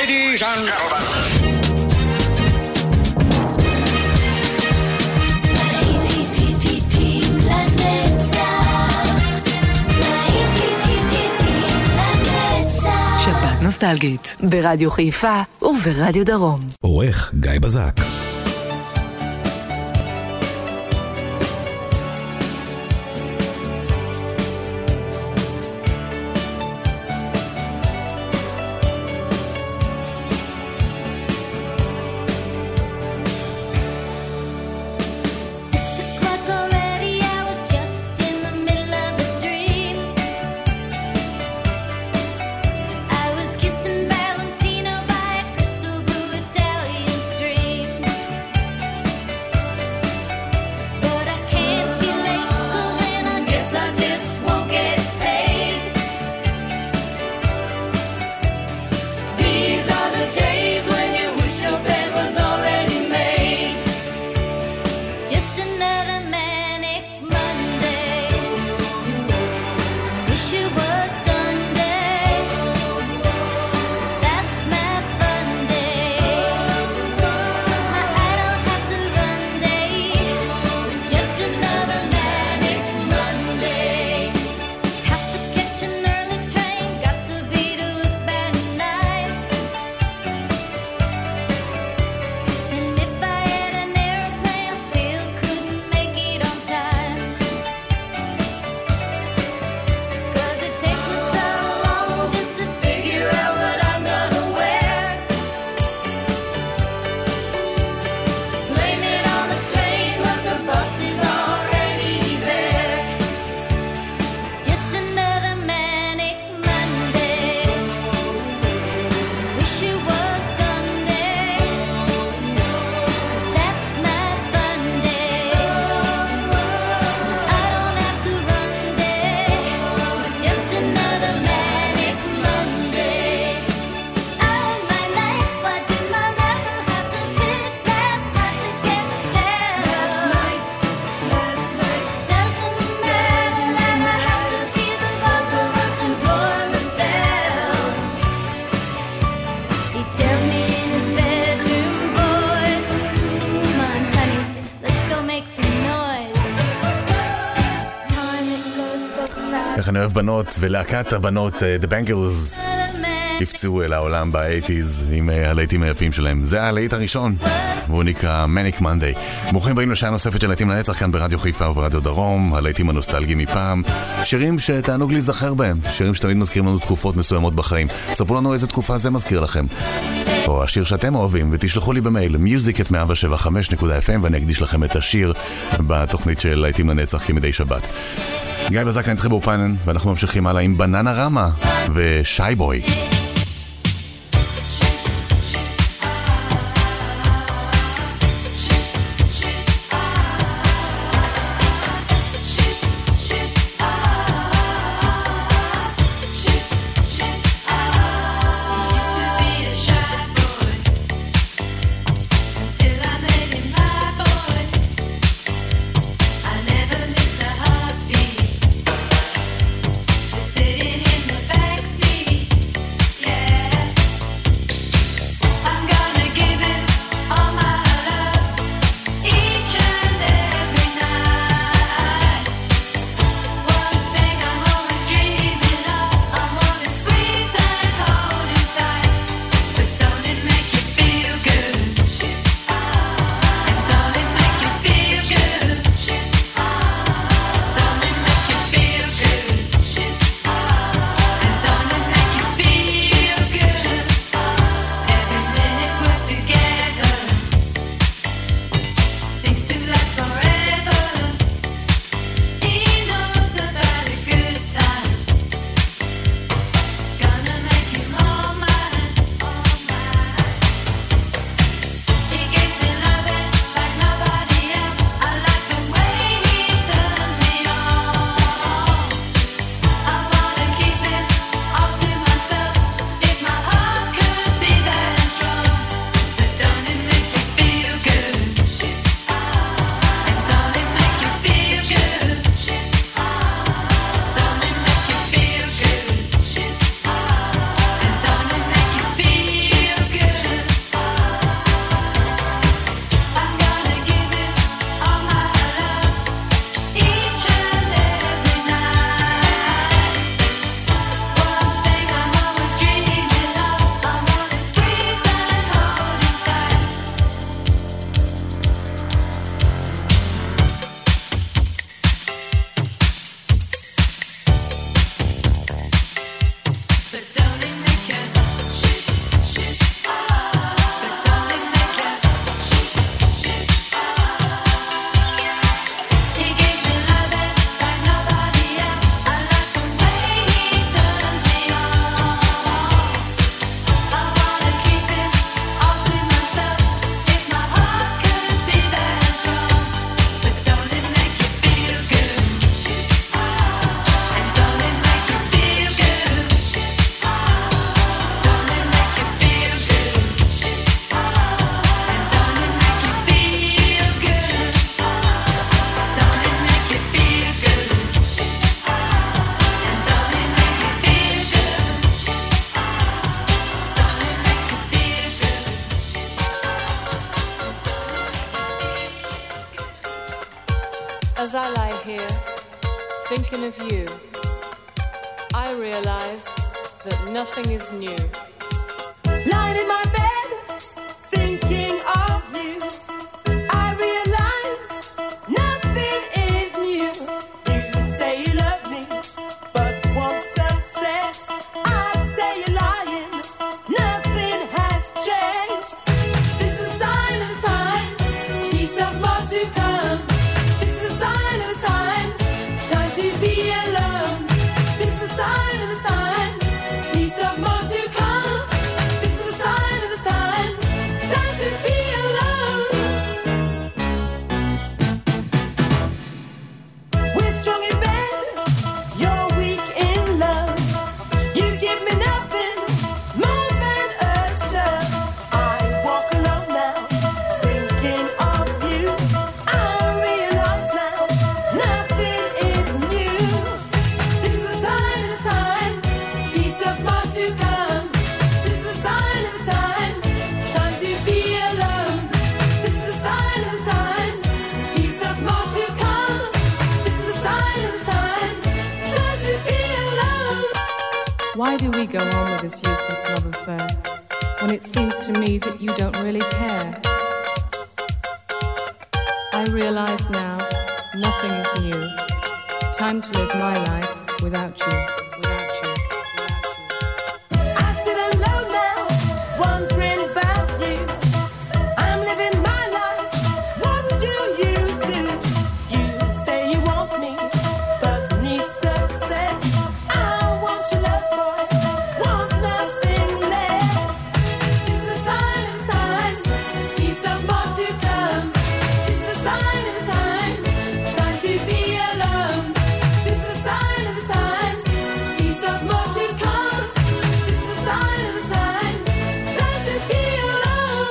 Ladies and gentlemen. שבת נוסטלגית ברדיו חיפה וברדיו דרום. עורך גיא בזק. אני אוהב בנות, ולהקת הבנות, The Bangles, הפצעו אל העולם ב-80s עם הלהיטים היפים שלהם. זה הלהיט הראשון, והוא נקרא Manic Monday. ברוכים באים לשעה נוספת של להיטים לנצח כאן ברדיו חיפה וברדיו דרום, הלהיטים הנוסטלגיים מפעם, שירים שתענוג להיזכר בהם, שירים שתמיד מזכירים לנו תקופות מסוימות בחיים. ספרו לנו איזה תקופה זה מזכיר לכם, או השיר שאתם אוהבים, ותשלחו לי במייל music@175.fm ואני אקדיש לכם את השיר בתוכנית של להיטים לנצח כמדי שבת. גיא בזק, נתחיל באופן, ואנחנו ממשיכים הלאה עם בננה רמה ושי בוי. Sitting in the backseat As I lie here, thinking of you, I realize that nothing is new. Lying in my bed, thinking of you, I realize nothing is new. You say you love me, but want some sex. I say you're lying, nothing has changed. This is a sign of the times, peace of more to come. This is a sign of the times, time to be alone. This is a sign of the times, peace of more to come. This is a sign of the times, time to be alone. We're strong in bed, you're weak in love. You give me nothing more than a shove. I walk alone now, thinking of you. I realize now, nothing is new. This is a sign of the times, peace of more to come. This is a sign of the times, time to be alone. This is a sign of the times, peace of more to come. This is a sign of the times, time to be alone. Why do we go on with this useless love affair when it seems to me that you don't really care? I realize now nothing is new. Time to live my life without you. Without you. I sit alone now, wondering about you. I'm living my life. What do? You say you want me, but need success. I want your love, boy. Want nothing less. This is a sign of the times, peace of more to come. This is a sign of the times, time to be alone. This is a sign of the times, peace of more to come. This is a sign of the times, time to be alone.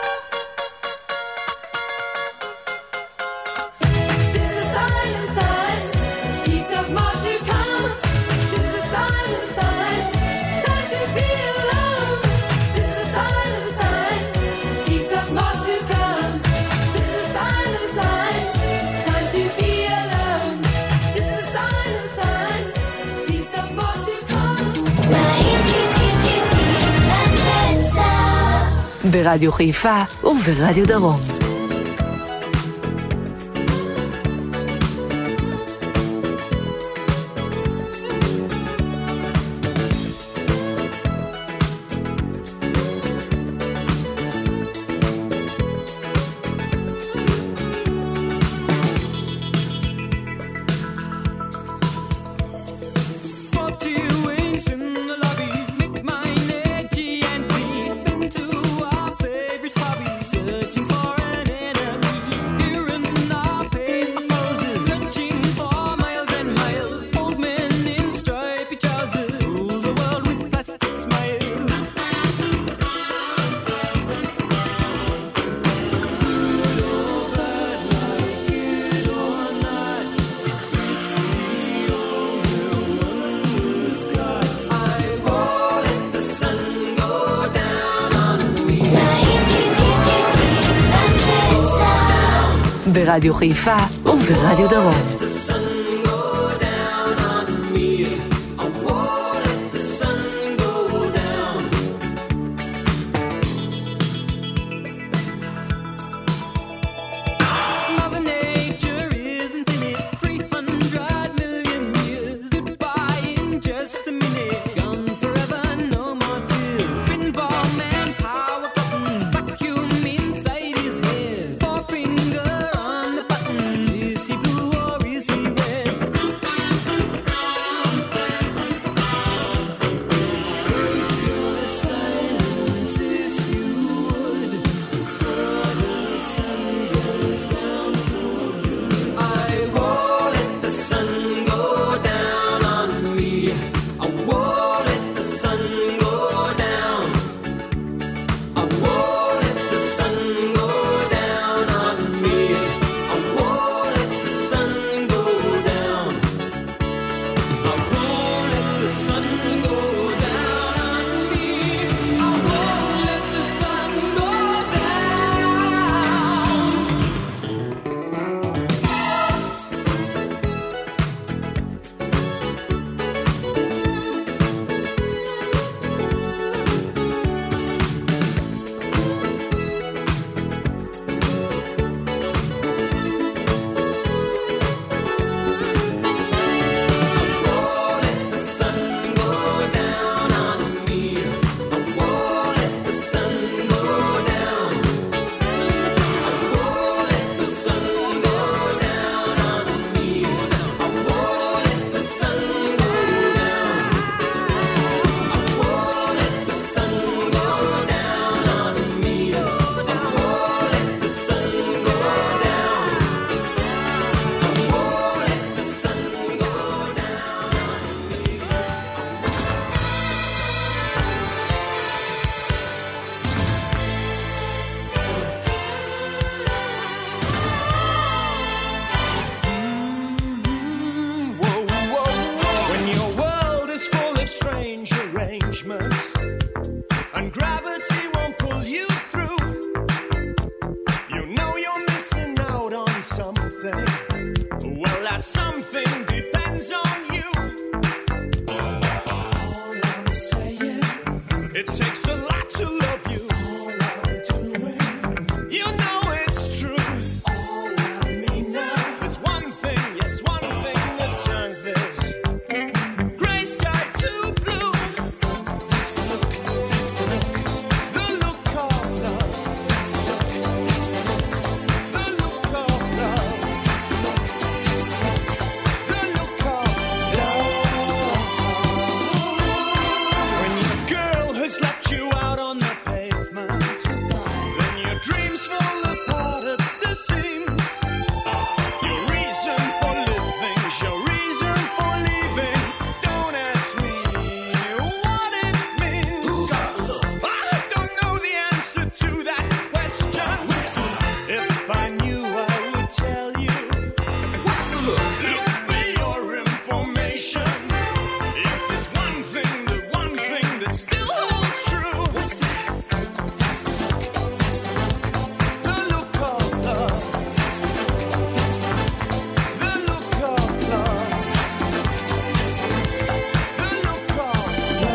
This is a sign of the times, peace of more to come. This is a sign of the times, time to be alone. This is a sign of the times, peace of more to come. This is a sign of the times, time to be alone. This is a sign of the times, peace of more to come. ברדיו חיפה וברדיו דרום. Wings in the lobby, make my energy and breathe into our favorite hobby. Searching for an enemy, here in our paper houses. Searching for miles and miles. Old men in stripy trousers rules the world with plastic smiles. Good or bad, like it or not, it's the only one we've got. I won't let the sun go down on me. ברדיו חיפה וברדיו דרום. The sun go down on me. I won't let the sun go down. Mother Nature is infinite, 300 million years. Goodbye in just a minute. Gone forever, no more tears. Pinball man, power button, vacuum inside his head. Forefinger on the button. Is he blue or is he you out on the pavement. Then your dreams fall apart at the seams. Your reason for living, your reason for leaving. Don't ask me what it means. I don't know the answer to that question. If I knew, I would tell you. Look for your information. Is this one thing, the one thing that still holds true? What's that? The look of love. The look of love. The look of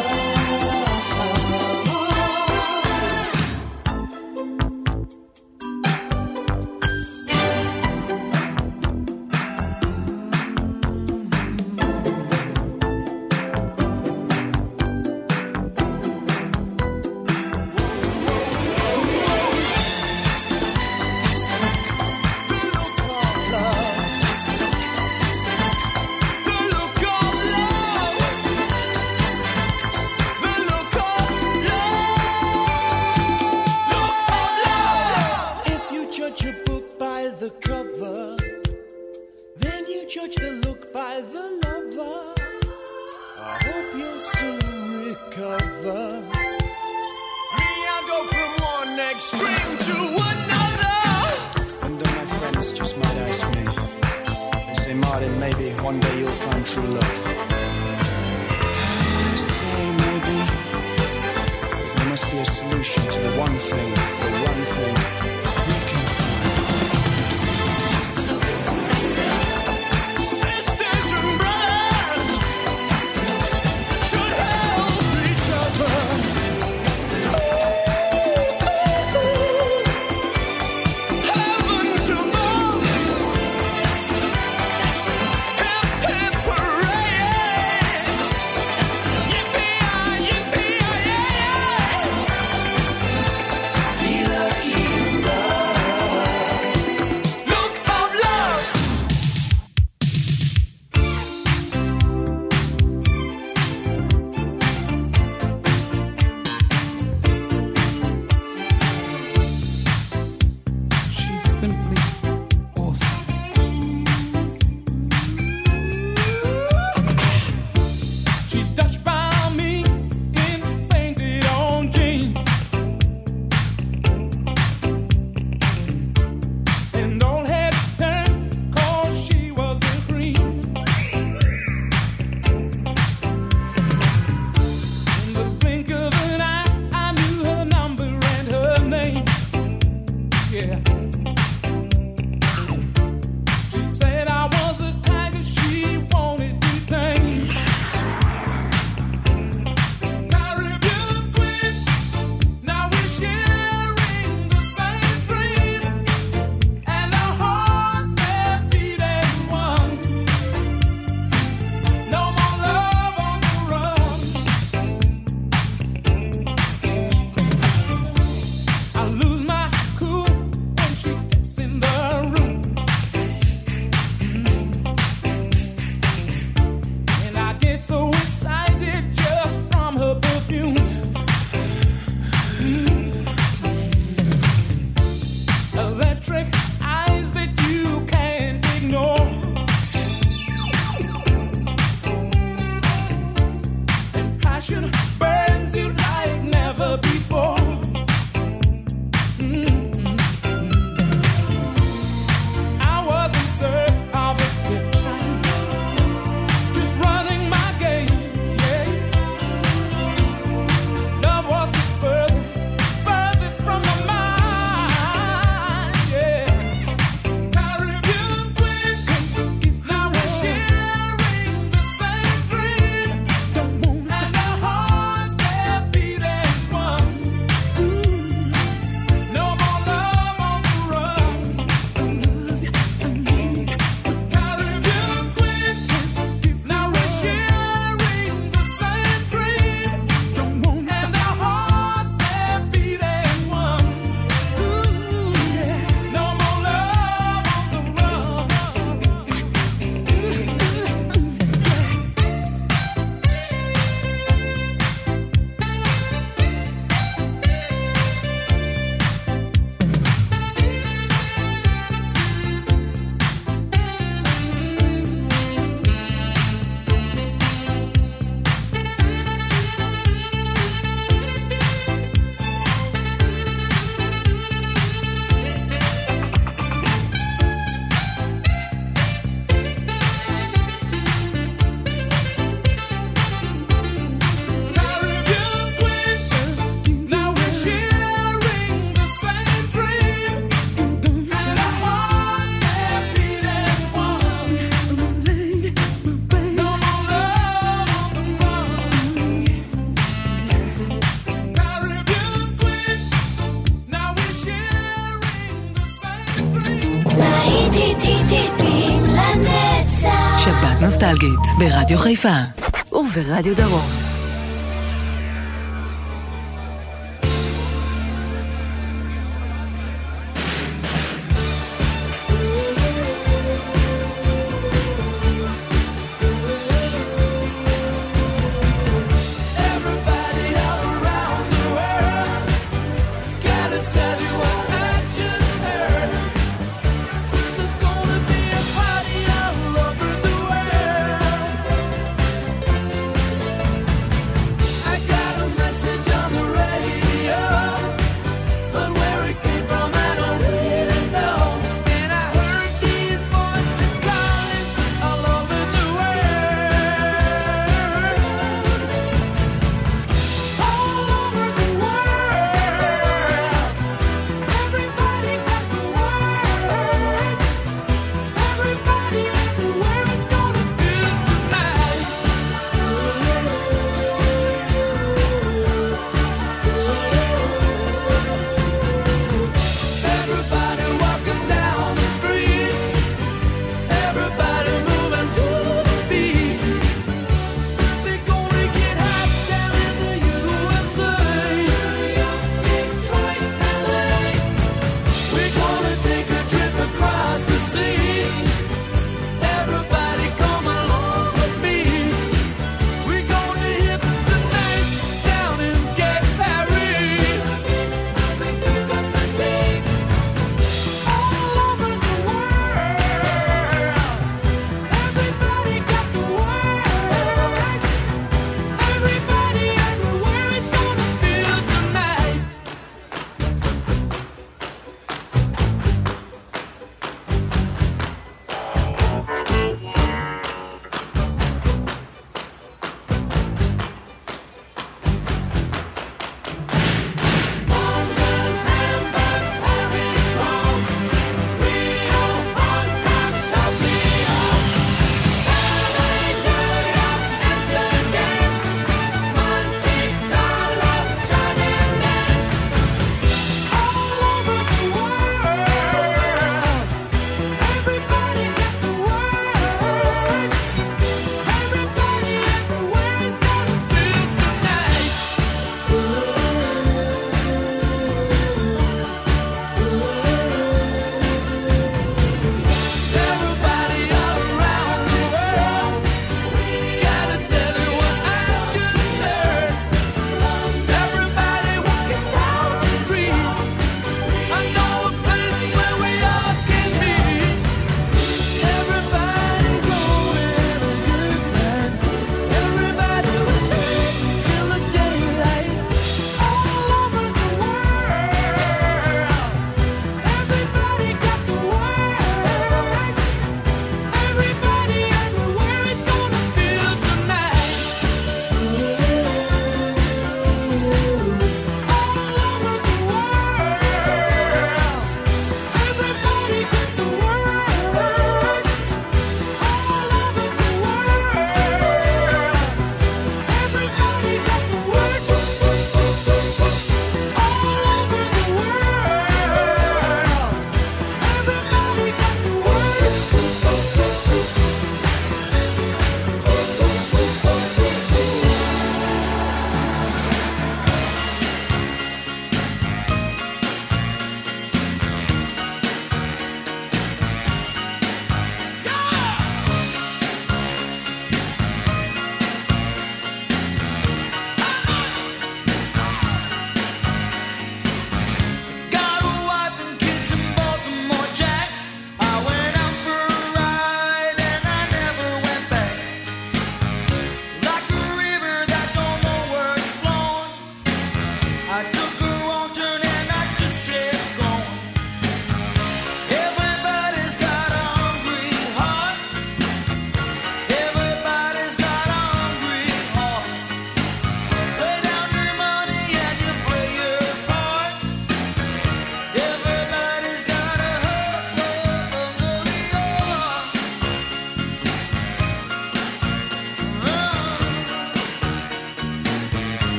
if you judge a book by the cover, then you judge the look by the lover. I hope you'll soon recover. Me, I go from one extreme to another. And all my friends just might ask me. They say, Martin, maybe one day you'll find true love. I say maybe, but there must be a solution to the one thing we can find. Sisters and brothers should help each other. Heavens above. Hip, hip, hooray. Yippee-yi-yi-yi-yi. Be lucky. נוסטלגית, ברדיו חיפה וברדיו דרום.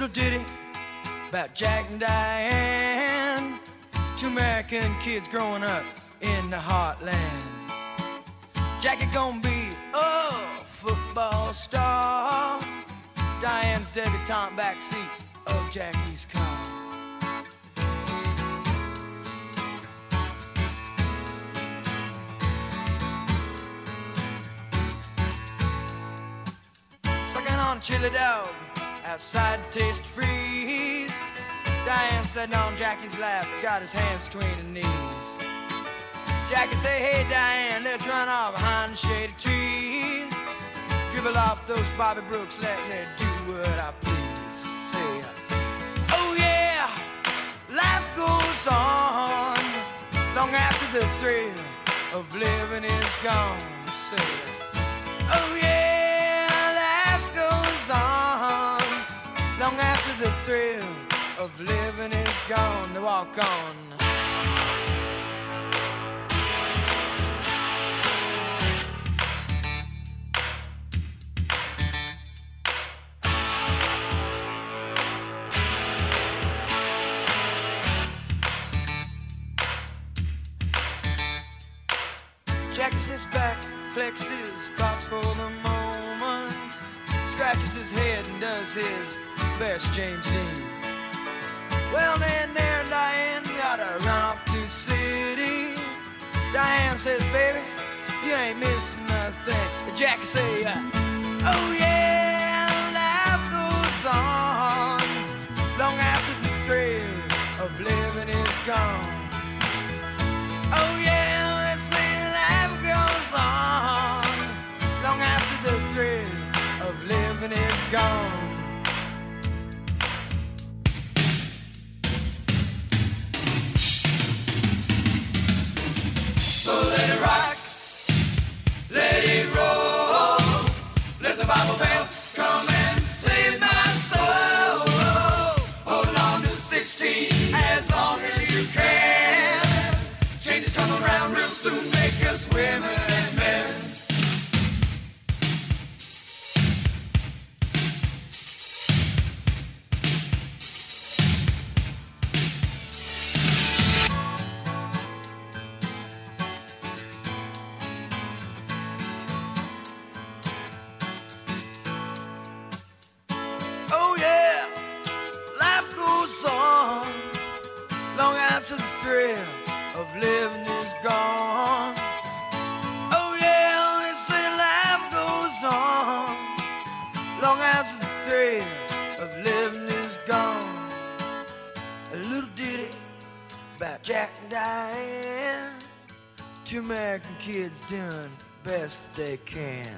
little ditty about Jack and Diane, two American kids growing up in the heartland. Jackie gonna be a football star, Diane's debutante backseat of Jackie's car. Sucking on chili dog outside Taste Freeze, Diane sitting on Jackie's lap, got his hands between her knees. Jackie say, hey Diane, let's run off behind the shady trees, dribble off those Bobby Brooks, let me do what I please. Say, oh yeah, life goes on long after the thrill of living is gone. Say, oh yeah, life goes on long after the thrill of living is gone. To walk on. Jackie sits back, flexes thoughts for the moment, scratches his head and does his best James Dean. Well, then there and Diane gotta run off to the city. Diane says, baby, you ain't missing nothing. But Jackie say, oh yeah, life goes on long after the thrill of living is gone. Oh yeah, let's say life goes on long after the thrill of living is gone. So let it rock, let it roll, let the Bible bell come and save my soul. Holding on to 16 as long as you can. Changes come around real soon, make us women and men. Oh yeah, life goes on long after the thrill of living is gone. Oh yeah, they say life goes on long after the thrill of living is gone. A little ditty about Jack and Diane, two American kids doing best they can.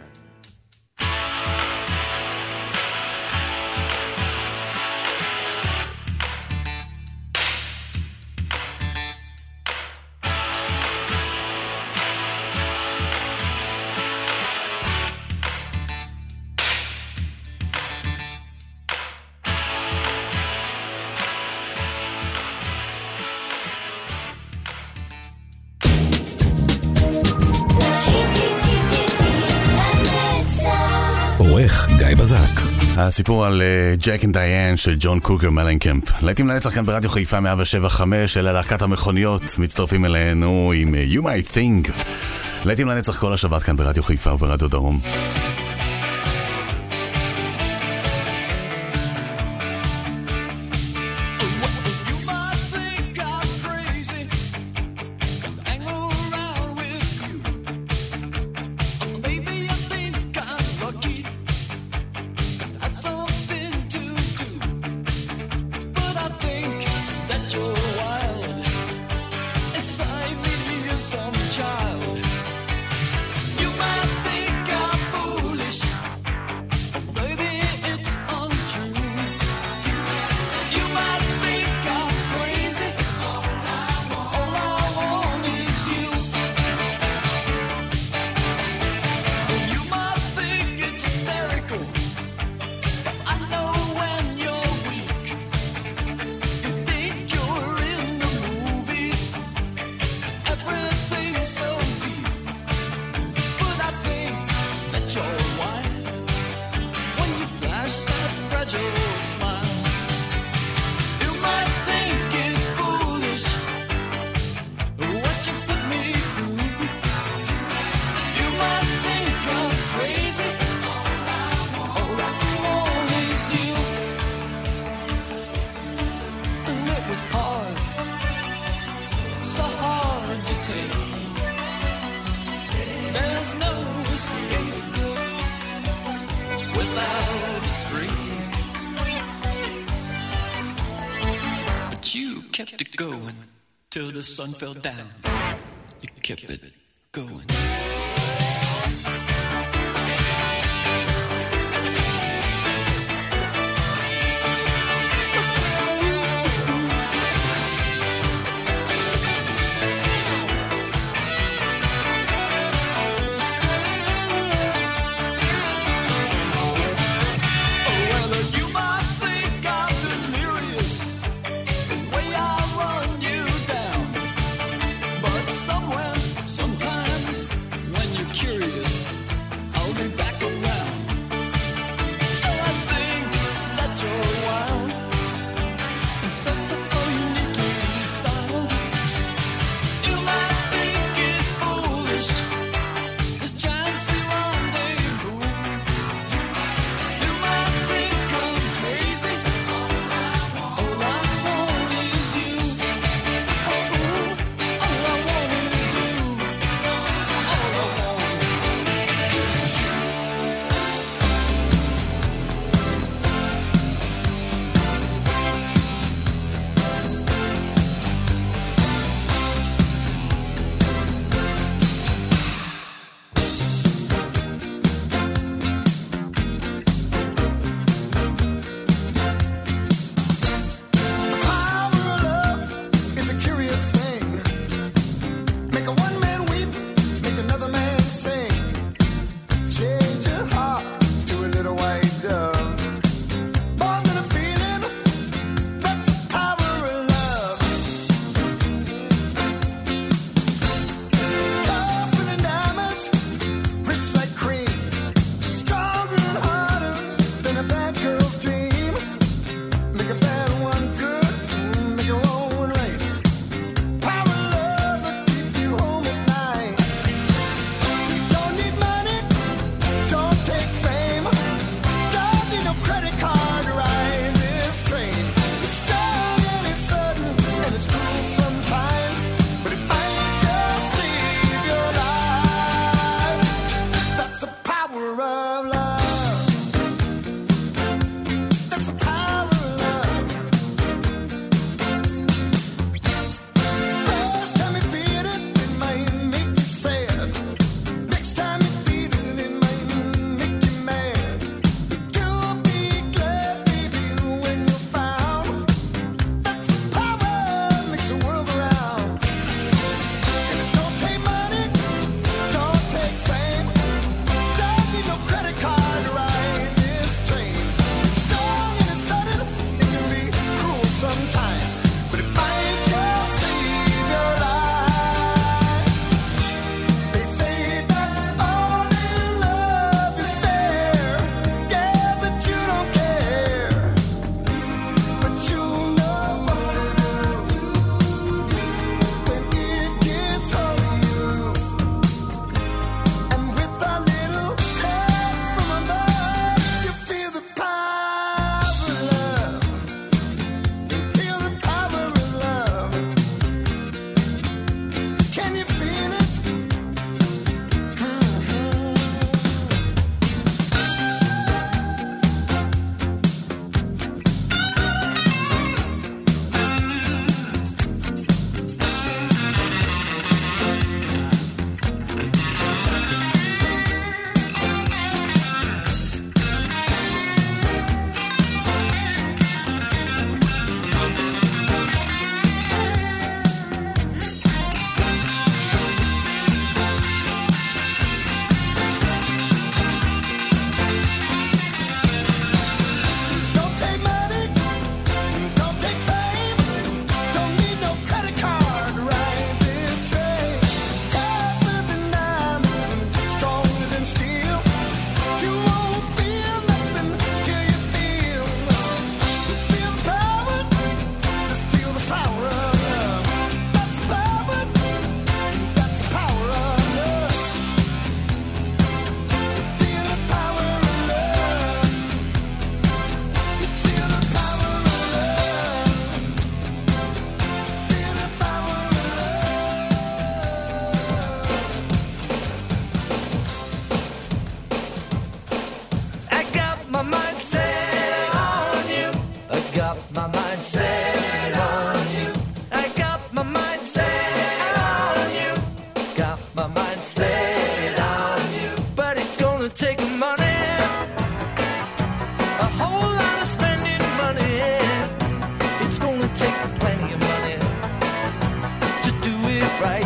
עורך גיא בזק. הסיפור על ג'ק אנד דיין של ג'ון קוקר מלנקמפ. להיטים לנצח כאן ברדיו חיפה 107.5, אלה להקת המכוניות, מצטרפים אלינו עם You Might Think. להיטים לנצח כל השבת כאן ברדיו חיפה וברדיו דרום. So kept it going till the sun fell down. You kept it going. Sometimes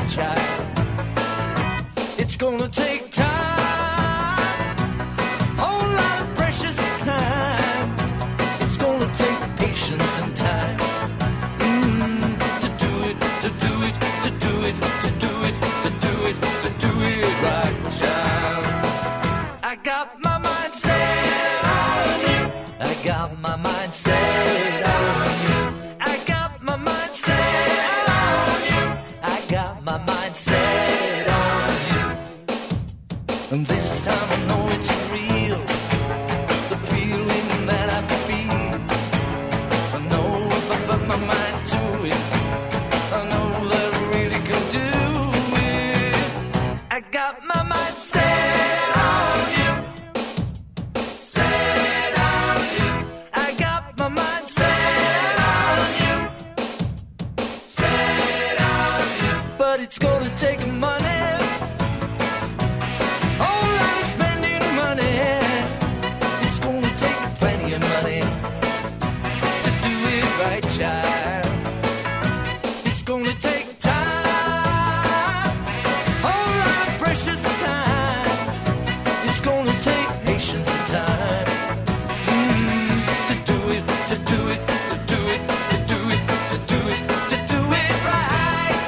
child. It's gonna take time, whole lot of precious time. It's gonna take patience and time to do it, to do it, to do it, to do it, to do it, to do it right, child. I got my mind set on you. I got my mind set on you. I got my mind set on you. I got my mind set on you. And this time I know it's real, the feeling that I feel. I know if I put my mind to it, I know that I really can do it. I got my mind set on you. Set on you. I got my mind set on you. Set on you. But it's gonna take money. Whole lot of spending money. It's gonna take plenty of money to do it right, child. It's gonna take time, whole lot of precious time. It's gonna take patience and time to do it, to do it, to do it, to do it, to do it, to do it right.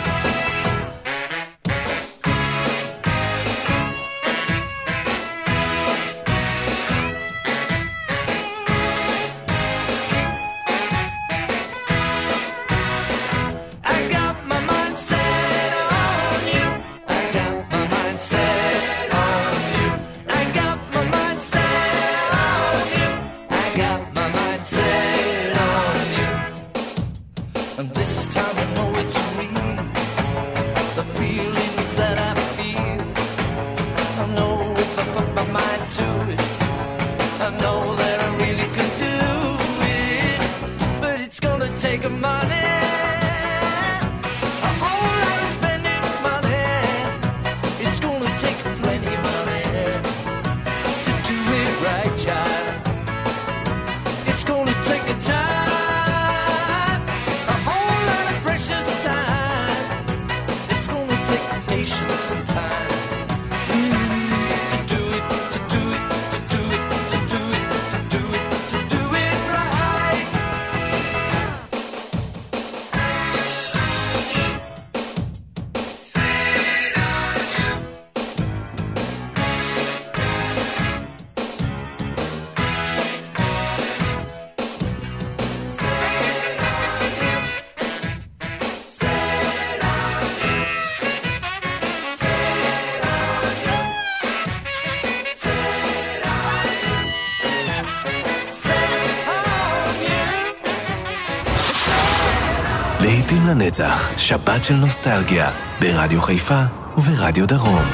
I got my mind set on you. I got my mind set on you. I got my mind set on you. I got my mind set on you. And this time I know it's real, the feelings that I feel. I know if I put my mind to it, I know that I really can do it. But it's gonna take money, a whole lot of spending money. It's gonna take plenty of money to do it right, child. It's gonna take a time, a whole lot of precious time. It's gonna take patience and time to do it, to do it, to do it, to do it, to do it, to do it right. להיטים לנצח, שבת של נוסטלגיה, ברדיו חיפה וברדיו דרום.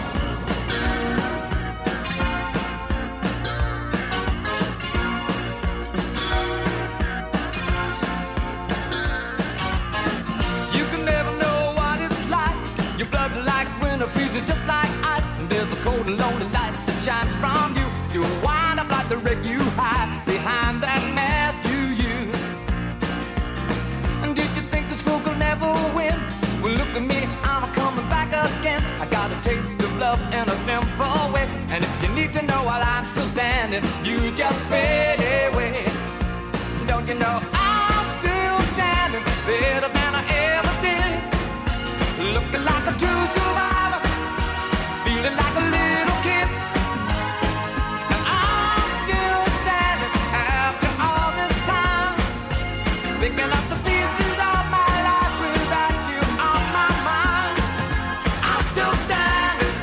You can never know what it's like. Your blood like winter freezes just like ice. And there's a cold and lonely light that shines from you. You wind up like the wreck you hide behind that mask you use. And did you think this fool could never win? Well, look at me, I'm coming back again. I got a taste of love in a simple way. And if you need to know while I'm still standing, you just fade away. Don't you know I'm still standing better than I ever did? Looking like a true survivor, feeling like a little kid. And I'm still standing after all this time, picking up the pieces of my life without you on my mind. I'm still standing.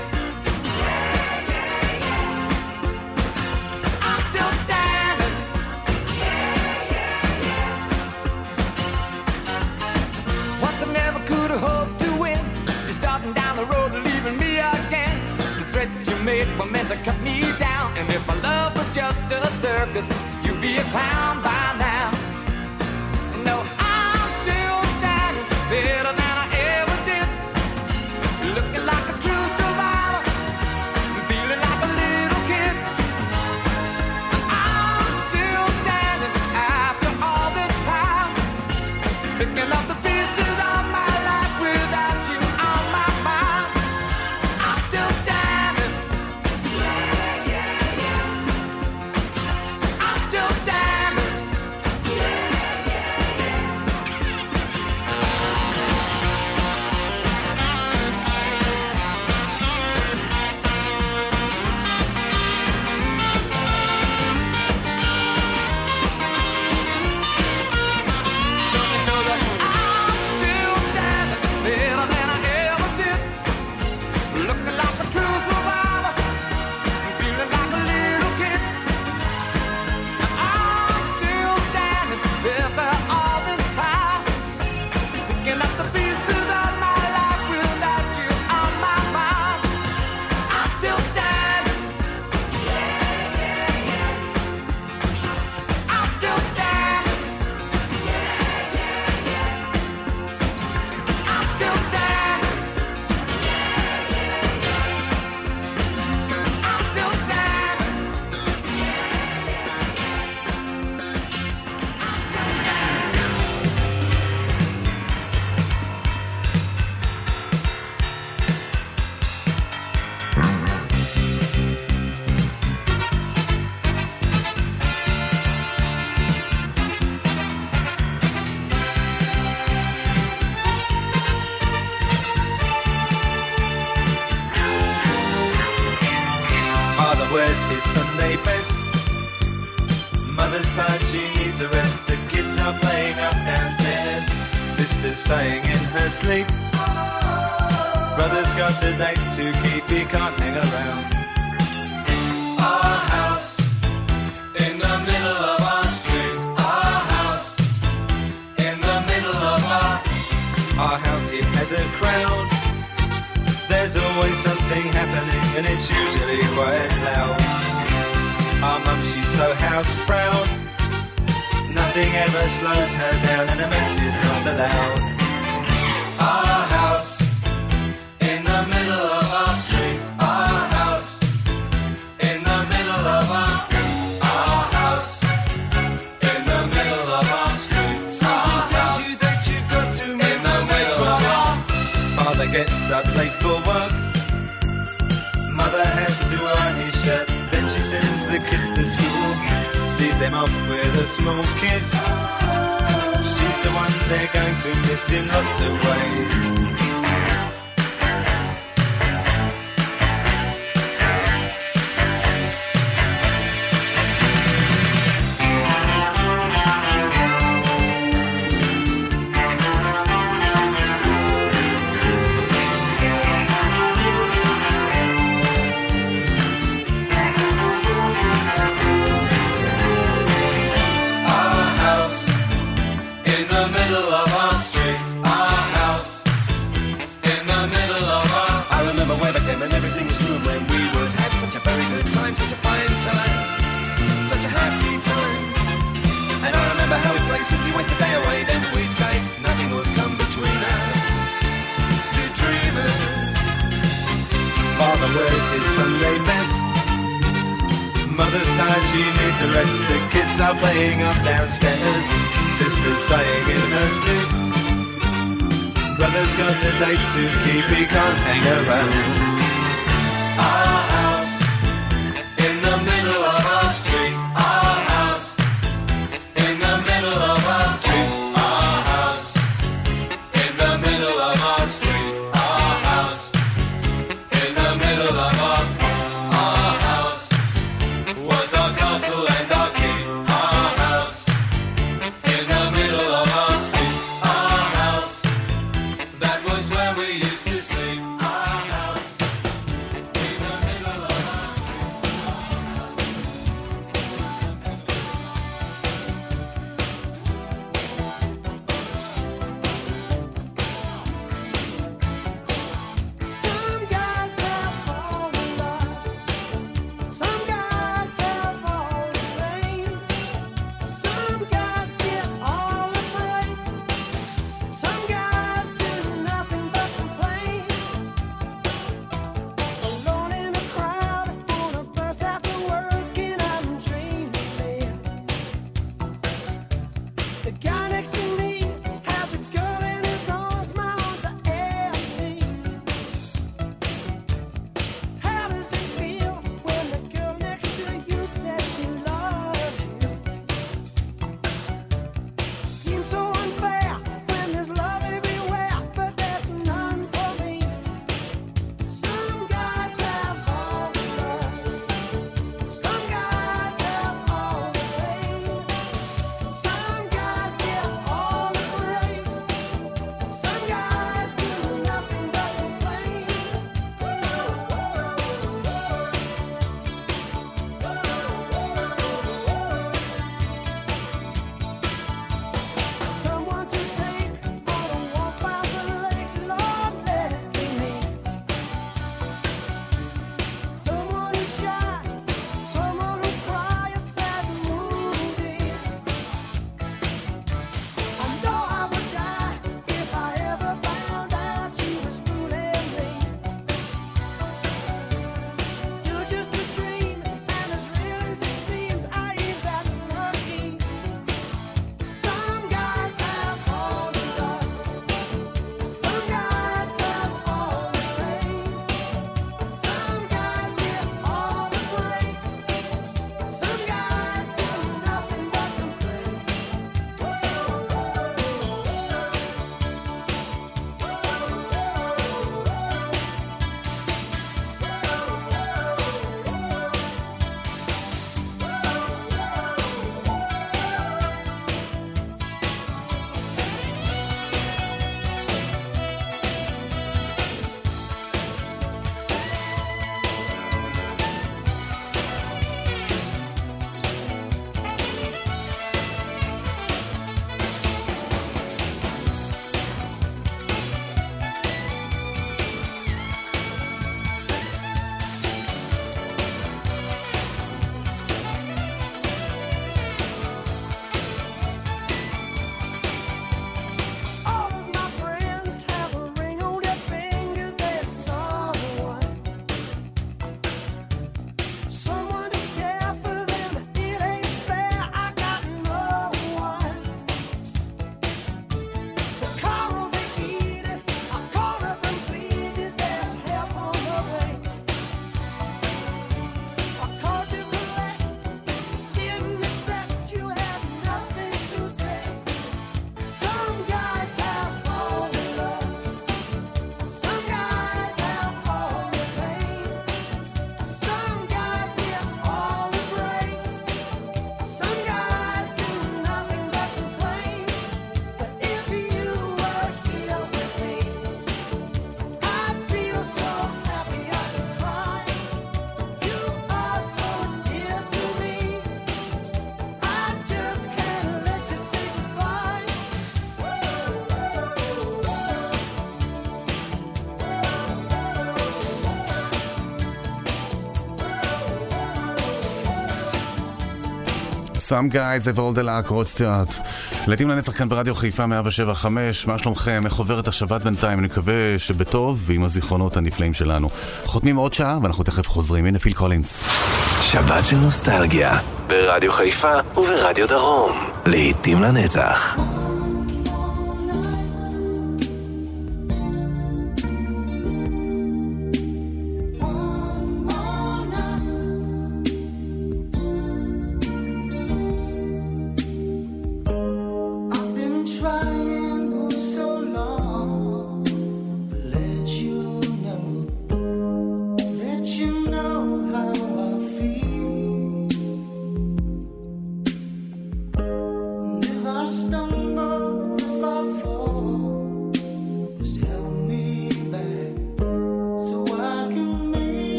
I'm still standing. Once I never could have hoped to win. You're starting down the road, leaving me again. The threats you made were meant to cut me down. And if my love was just a circus, you'd be a clown by now. No, I'm still standing better than I ever did. Looking like a true survivor, feeling like a little kid. And I'm still standing after all this time, picking up the pieces of my life without you. wears his Sunday best. Mother's tired, she needs a rest. The kids are playing up downstairs. Sister's saying in her sleep, brother's got a date to keep, he can't hang around. Our house in the middle of our street. Our house in the middle of our house, it has a crowd. There's always something happening and it's usually quite loud. Our mum, she's so house proud. Nothing ever slows her down and a mess is not allowed. Our house in the middle of our street. Our house in the middle of our house in the middle of our street. Something tells you that you've got to in the middle of our. Father gets up late for work. Mother has to iron his shirt. Then she sends the kids to school, sees them off with a small kiss. She's the one they're going to miss in lots of ways. And everything was true when we would have such a very good time, such a fine time, such a happy time. And I remember how we'd play, simply waste the day away. Then we'd say nothing would come between us, two dreamers. Father wears his Sunday best. Mother's tired, she needs a rest. The kids are playing up downstairs. Sister's sighing in her sleep. Brother's got a date to keep, he can't hang around. Our house in the middle of our street. Our house in the middle of our street. Our house in the middle of our street. Our house in the middle of our house was our castle and our keep. Our house in the middle of our street. Our house, that was where we used to sleep. Our house in the middle. Some guys have all the luck, רוד סטיוארט. להיטים לנצח כאן ברדיו חיפה 107.5. מה שלומכם? איך עוברת השבת בינתיים? אני מקווה שבטוב ועם הזיכרונות הנפלאים שלנו. חותמים עוד שעה ואנחנו תכף חוזרים. הנה פיל קולינס. שבת של נוסטלגיה ברדיו חיפה וברדיו דרום. להיטים לנצח.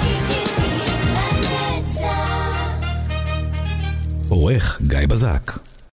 עורך גיא בזק.